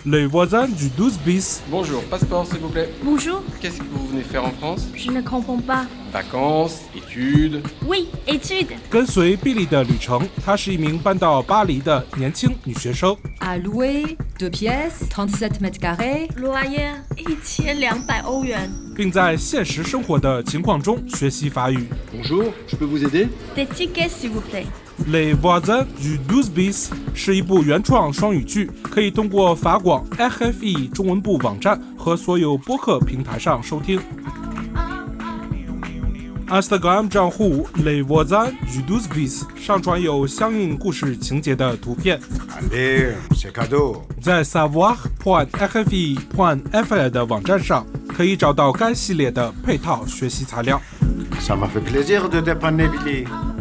Les voisins du 12 bis. Bonjour, passeport s'il vous plaît. Bonjour, Qu'est-ce que vous venez faire en France? je ne comprends pas. Vacances, études. Oui, études. 跟随比利的旅程，她是一名搬到巴黎的年轻女学生。 À louer, 2 pièces, 37 mètres carrés. Loyer 1200欧元。 并在现实生活的情况中学习法语。 Bonjour, je peux vous aider? Des tickets s'il vous plaît. Les voisins du 12 bis 是一部原创双语剧，可以通过法广 RFE 中文部网站和所有播客平台上收听。Instagram 账户 Les voisins du 12 bis 上传有相应故事情节的图片。 Allez, c'est cadeau. 在 savoir.rfe.fr 的网站上可以找到该系列的配套学习材料。 Ça m'a fait plaisir de dépanner Billy.